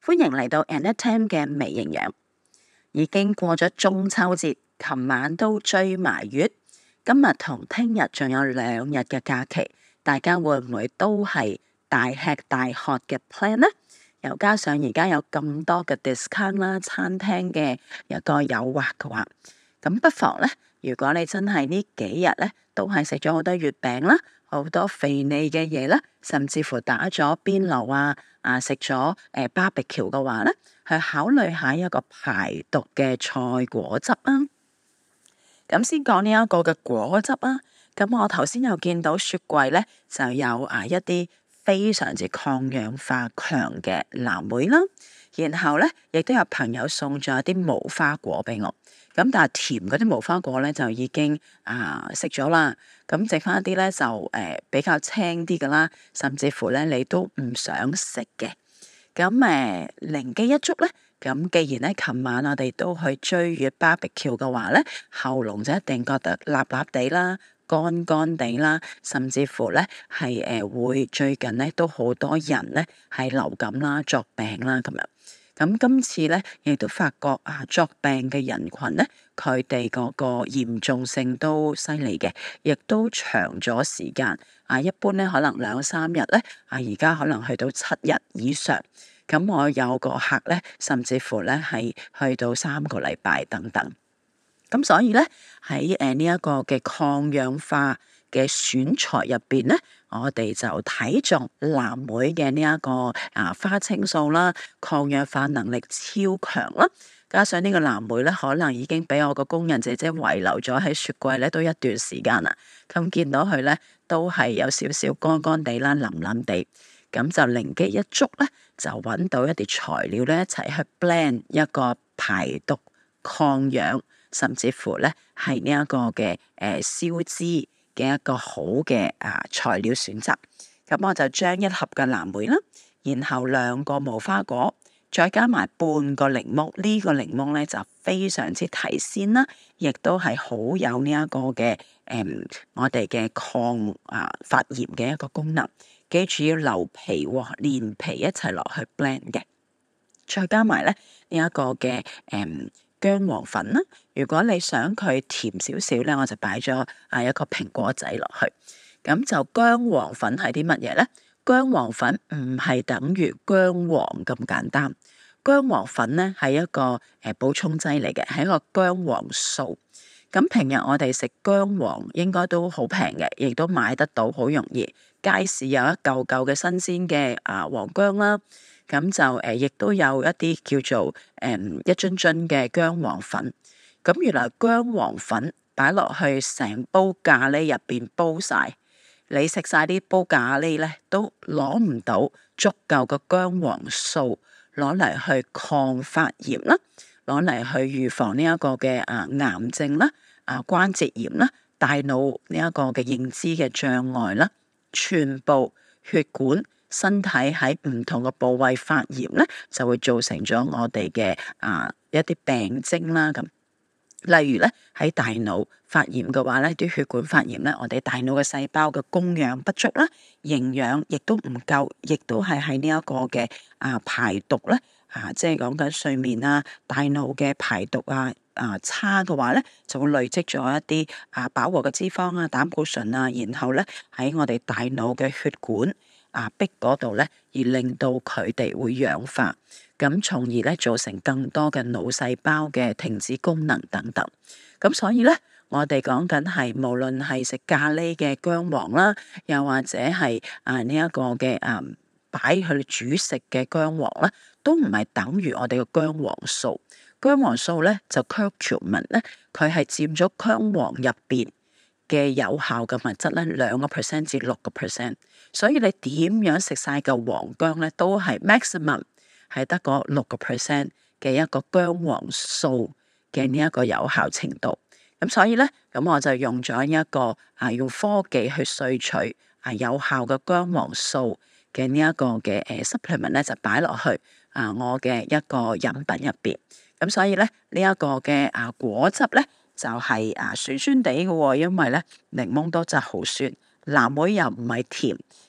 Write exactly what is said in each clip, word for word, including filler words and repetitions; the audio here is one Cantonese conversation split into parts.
歡迎嚟到 Annette Tam 嘅微營養。已經過咗中秋節，琴晚都追埋月，今日同聽日仲有兩日嘅假期，大家會唔會都係大吃大喝嘅 plan 呢？又加上而家有咁多嘅 discount 啦，餐廳嘅一個誘惑嘅話，咁不妨呢，如果你真係呢幾日呢都係食咗好多月餅啦，好多肥膩嘅嘢啦，甚至乎打咗邊爐啊，啊食咗誒 barbecue 嘅話咧，去考慮下一個排毒嘅菜果汁啊。咁先講呢一個嘅果汁啊。咁我頭先又見到雪櫃咧就有啊一啲非常之抗氧化強嘅藍莓啦，然後咧亦都有朋友送咗一啲無花果俾我。咁但係甜嗰啲無花果咧就已經啊食咗啦，咁剩翻一啲咧就誒、呃、比較青啲噶啦，甚至乎咧你都唔想食嘅。咁誒靈機一觸咧，咁既然咧琴晚我哋都去追月 barbecue 嘅話咧，喉嚨就一定覺得辣辣地啦、乾乾地啦，甚至乎咧係誒會最近咧都好多人咧係流感啦、作病啦咁樣。咁今次咧，亦都發覺啊，作病嘅人群咧，佢哋嗰個嚴重性都犀利嘅，亦都長咗時間。啊，一般咧可能兩三日咧，啊而家可能去到七日以上。咁我有個客咧，甚至乎咧係去到三個禮拜等等。咁所以咧喺誒呢一個嘅抗氧化嘅選材入邊咧，我哋就睇中藍莓嘅呢一個啊花青素啦，抗氧化能力超強啦，加上呢個藍莓咧，可能已經俾我個工人姐姐遺留咗喺雪櫃咧都一段時間啦。咁見到佢咧都係有少少乾乾地啦、腍腍地，咁就靈機一觸咧，就揾到一啲材料咧一齊去 blend 一個排毒抗氧，甚至乎咧係呢一個嘅誒消脂嘅一個好嘅啊材料選擇。咁我就將一盒嘅藍莓啦，然後兩個無花果，再加埋半個檸檬。這個、呢個檸檬咧就非常之提鮮啦，亦都係好有呢一個嘅誒、嗯、我哋嘅抗啊發炎嘅一個功能。記住要留皮喎、哦，連皮一齊落去 blend 嘅。再加埋咧呢一、這個嘅誒。嗯薑黃粉啦，如果你想佢甜少少咧，我就擺咗啊一個蘋果仔落去。咁就薑黃粉係啲乜嘢咧？薑黃粉唔係等於薑黃咁簡單，薑黃粉咧係一個誒補充劑嚟嘅，係一個薑黃素。咁平日我哋食薑黃應該都好平嘅，亦都買得到，好容易。街市有一嚿嚿嘅新鮮嘅啊黃薑啦。咁就誒，亦、呃、都有一啲叫做誒、嗯、一樽樽嘅薑黃粉。咁原來薑黃粉擺落去成煲咖喱入邊煲晒，你食晒啲煲咖喱咧，都攞唔到足夠嘅薑黃素，攞嚟去抗發炎啦，攞嚟去預防呢一個嘅啊癌症啦、啊關節炎啦、大腦呢一個嘅認知嘅障礙啦，全部血管。身體喺唔同嘅部位發炎咧，就會造成咗我哋嘅啊一啲病徵啦。咁例如咧喺大腦發炎嘅話咧，啲血管發炎咧，我哋大腦嘅細胞嘅供氧不足啦，營養亦都唔夠，亦都係喺呢一個嘅啊排毒咧啊，即係講緊睡眠啊、大腦嘅排毒啊啊差嘅話咧，就會累積咗一啲啊飽和嘅脂肪啊、膽固醇啊，然後咧喺我哋大腦嘅血管。啊壁嗰度咧，而令到佢哋會氧化，咁從而咧造成更多嘅腦細胞嘅停止功能等等。咁所以咧，我哋講緊係無論係食咖喱嘅薑黃啦，又或者係啊呢一個嘅啊擺去煮食嘅薑黃啦，都唔係等於我哋嘅薑黃素。薑黃素咧就 curcumin 咧，佢係佔咗薑黃入邊嘅有效嘅物質咧，兩個 percent 至六個 percent，所以你點樣食晒嚿黃薑咧，都係 maximum 係得個六個 percent 嘅一個薑黃素嘅呢一個有效程度。咁所以咧，咁我就用咗一個啊用科技去萃取啊有效嘅薑黃素嘅呢一個嘅誒 supplement 咧，就擺落去啊我嘅一個飲品入邊。咁所以咧呢一個嘅啊果汁咧。就係啊酸酸地嘅喎，因為咧檸檬多真係好酸，藍莓又唔係甜，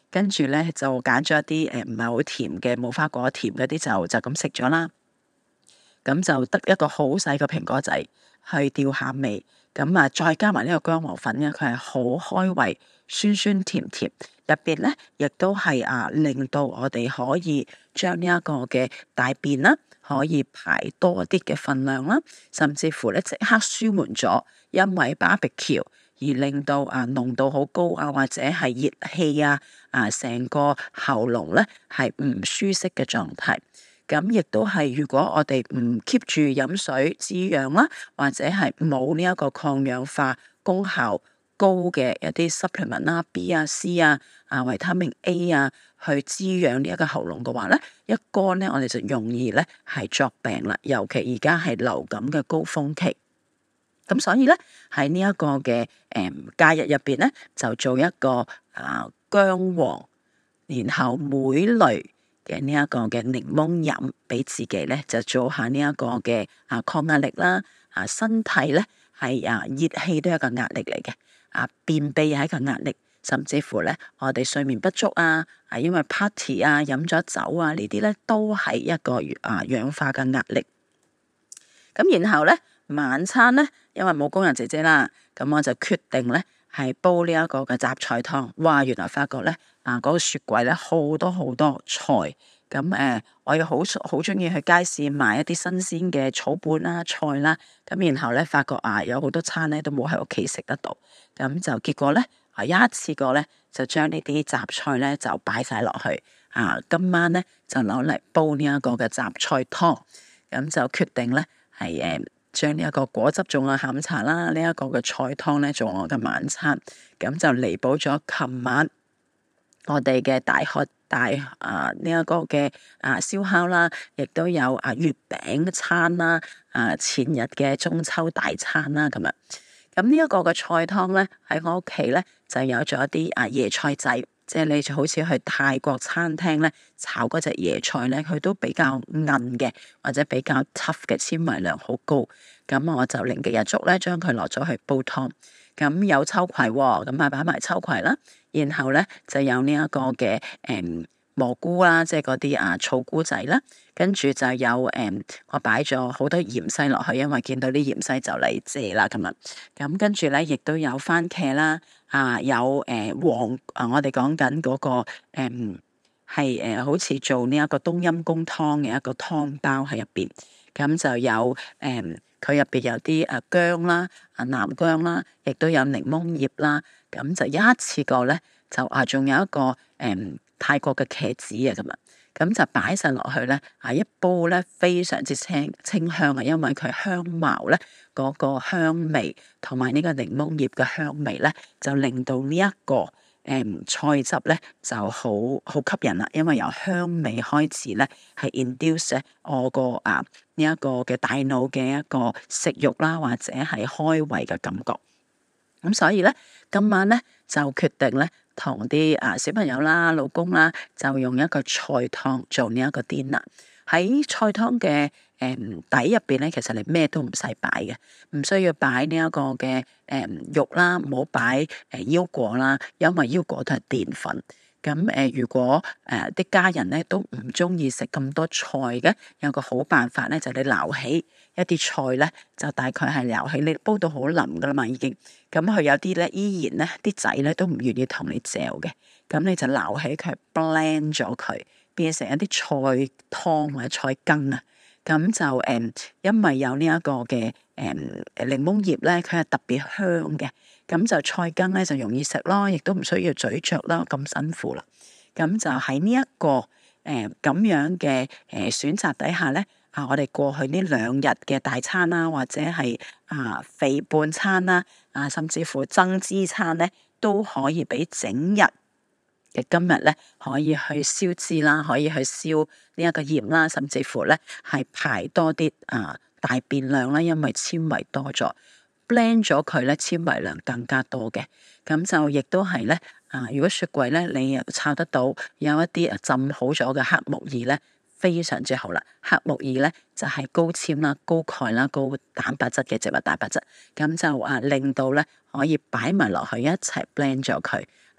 跟住咧就揀咗一啲誒唔係好甜嘅無花果，甜嗰啲就就咁食咗啦。咁就得一個好細個蘋果仔去吊下味，咁啊再加埋呢個薑黃粉咧，佢係好開胃，酸酸甜甜，入邊咧亦都係啊令到我哋可以將呢一個嘅大便啦，可以排多啲嘅份量啦，甚至乎咧即刻舒緩咗，因為 barbecue 而令到啊濃度好高啊，或者係熱氣啊，啊成個喉嚨咧係唔舒適嘅狀態。咁亦都係，如果我哋唔 keep 住飲水滋養啦，或者係冇呢一個抗氧化功效高嘅一啲 supplement 啦，B 啊、C 啊、啊維他命 A 啊，去滋養呢一個喉嚨嘅話咧，一乾咧，我哋就容易咧係作病啦。尤其而家係流感嘅高峰期，咁所以咧喺呢一個嘅誒假日入邊咧，就做一個啊薑黃，然後莓類嘅呢一個嘅檸檬飲，俾自己咧就做下呢一個嘅啊抗壓力啦，啊身體咧係啊熱氣都係一個壓力嚟嘅，啊便秘係一個壓力，甚至乎咧我哋睡眠不足啊，啊因為 party 啊飲咗酒啊呢啲咧都係一個啊氧化嘅壓力。咁然後咧晚餐咧，因為冇工人姐姐啦，咁我就決定咧係煲呢一個嘅雜菜湯。哇！原來發覺咧啊嗰個雪櫃咧好多好多菜，咁誒、呃、我又好好中意去街市買一啲新鮮嘅草本啦菜啦，咁然後咧發覺啊有好多餐咧都冇喺屋企食得到，咁就結果咧啊一次過咧就將呢啲雜菜咧就擺晒落去啊，今晚咧就攞嚟煲呢一個嘅雜菜湯，咁就決定咧係誒。將呢一個果汁做我下午茶啦，呢、這、一個嘅菜湯咧做我嘅晚餐，咁就彌補咗琴晚我哋嘅大喝大啊呢一、這個嘅啊燒烤啦，亦都有啊月餅餐啦，啊前日嘅中秋大餐啦咁樣。咁呢一個嘅菜湯咧喺我屋企咧就有咗一啲啊椰菜仔。即係你就好似去泰國餐廳咧炒嗰隻椰菜咧，佢都比較韌嘅，或者比較 tough 嘅，纖維量好高。咁我就靈機一觸咧，將佢落咗去煲湯。咁有秋葵喎、哦，咁啊擺埋秋葵啦。然後咧就有呢一個嘅誒、嗯、蘑菇啦，即係嗰啲啊草菇仔啦。跟住就有誒、嗯，我擺咗好多芫茜落去，因為見到啲芫茜就嚟謝啦咁啊。咁跟住咧，亦都有番茄啦。啊，有誒、呃、黃啊！我哋講緊嗰個誒係誒，好似做呢一個冬陰功湯嘅一個湯包喺入邊，咁就有誒佢入邊有啲誒薑啦、啊南薑啦，亦都有檸檬葉啦，咁就一次過咧就啊，仲有一個誒、嗯、泰國嘅茄子啊咁啊，咁就擺晒落去咧啊，一煲咧非常之清清香啊，因為佢香茅咧。嗰個香味同埋呢個檸檬葉嘅香味咧，就令到呢、這、一個誒、嗯、菜汁咧就好好吸引啦。因為由香味開始咧，係 induce 我個啊呢一、這個嘅大腦嘅一個食慾啦，或者係開胃嘅感覺。咁所以咧，今晚咧就決定咧同啲啊小朋友啦、老公啦，就用一個菜湯做呢一個 dinner。喺菜湯嘅誒、嗯、底入邊咧，其實你咩都唔使擺嘅，唔需要擺呢一個嘅誒、嗯、肉啦，唔好擺誒腰果啦，因為腰果都係澱粉。咁誒、呃，如果誒啲、呃、家人咧都唔中意食咁多菜嘅，有個好辦法咧，就你撈起一啲菜咧，就大概係撈起，你煲到好腍噶啦嘛，已經。咁佢有啲咧依然咧啲仔咧都唔願意同你嚼嘅，咁你就撈起佢 blend 咗佢。變成一啲菜湯或者菜羹啊，咁就誒、嗯，因為有呢一個嘅誒檸檬葉咧，佢係特別香嘅，咁就菜羹咧就容易食咯，亦都唔需要咀嚼啦，咁辛苦啦。咁就喺呢一個誒咁、呃、樣嘅誒、呃、選擇底下咧，啊，我哋過去呢兩日嘅大餐啦，或者係啊肥胖餐啦，啊甚至乎增脂餐咧，都可以俾整日。嘅今日咧可以去燒脂啦，可以去燒呢一個鹽啦，甚至乎咧係排多啲啊大便量啦，因為纖維多咗，blend 咗佢咧纖維量更加多嘅，咁就亦都係咧啊！如果雪櫃咧你又炒得到有一啲啊浸好咗嘅黑木耳咧，非常之好啦。黑木耳咧就係、是、高纖啦、高鈣啦、高蛋白質嘅植物蛋白質，咁就啊令到咧可以擺埋落去一齊 blend 咗佢。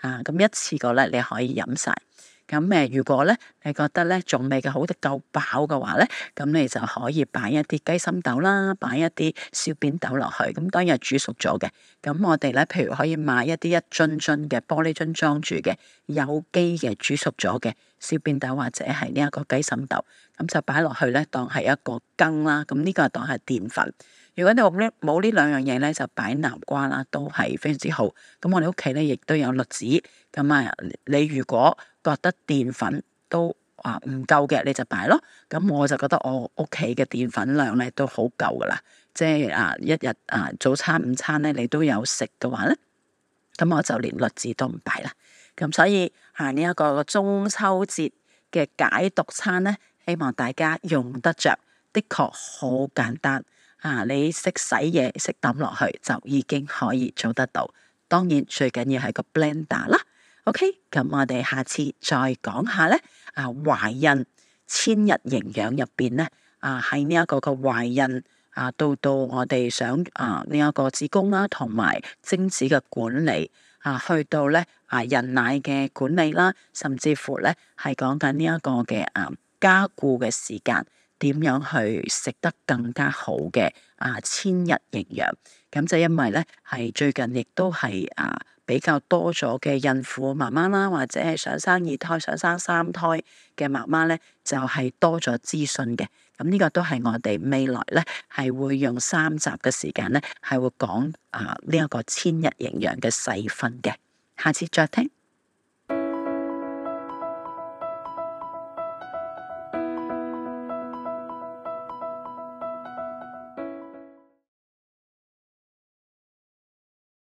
啊，咁一次過咧你可以飲晒。咁誒，如果咧你覺得咧仲未嘅好得夠飽嘅話咧，咁你就可以擺一啲雞心豆啦，擺一啲小扁豆落去。咁當然係煮熟咗嘅。咁我哋咧，譬如可以買一啲一樽樽嘅玻璃樽裝住嘅有機嘅煮熟咗嘅小扁豆或者係呢一個雞心豆，咁就擺落去咧當係一個羹啦。咁呢個當係澱粉。如果你冇呢冇呢兩樣嘢咧，就擺南瓜啦，都係非常之好。咁我哋屋企咧亦都有栗子。咁啊，你如果覺得澱粉都啊唔夠嘅，你就擺咯。咁我就覺得我屋企嘅澱粉量咧都好夠噶啦，即係啊一日啊早餐、午餐咧你都有食嘅話咧，咁我就連栗子都唔擺啦。咁所以啊呢一個中秋節嘅解毒餐咧，希望大家用得着，的確好簡單啊！你識洗嘢，識抌落去就已經可以做得到。當然最緊要係個 blender 啦。OK，咁我哋下次再講下咧。啊，懷孕千日營養入邊咧，啊喺呢一個個懷孕啊，到到我哋想啊呢一個子宮啦，同埋精子嘅管理啊，去到咧啊人奶嘅管理啦，甚至乎咧係講緊呢一個嘅啊加固嘅時間，點樣去食得更加好嘅啊千日營養。咁就因為咧係最近亦都係啊。比較多咗嘅孕婦媽媽啦，或者係想生二胎、想生三胎嘅媽媽咧，就係、是、多咗資訊嘅。咁呢個都係我哋未來咧係會用三集嘅時間咧係會講啊呢一個千日營養嘅細分嘅。下次再聽。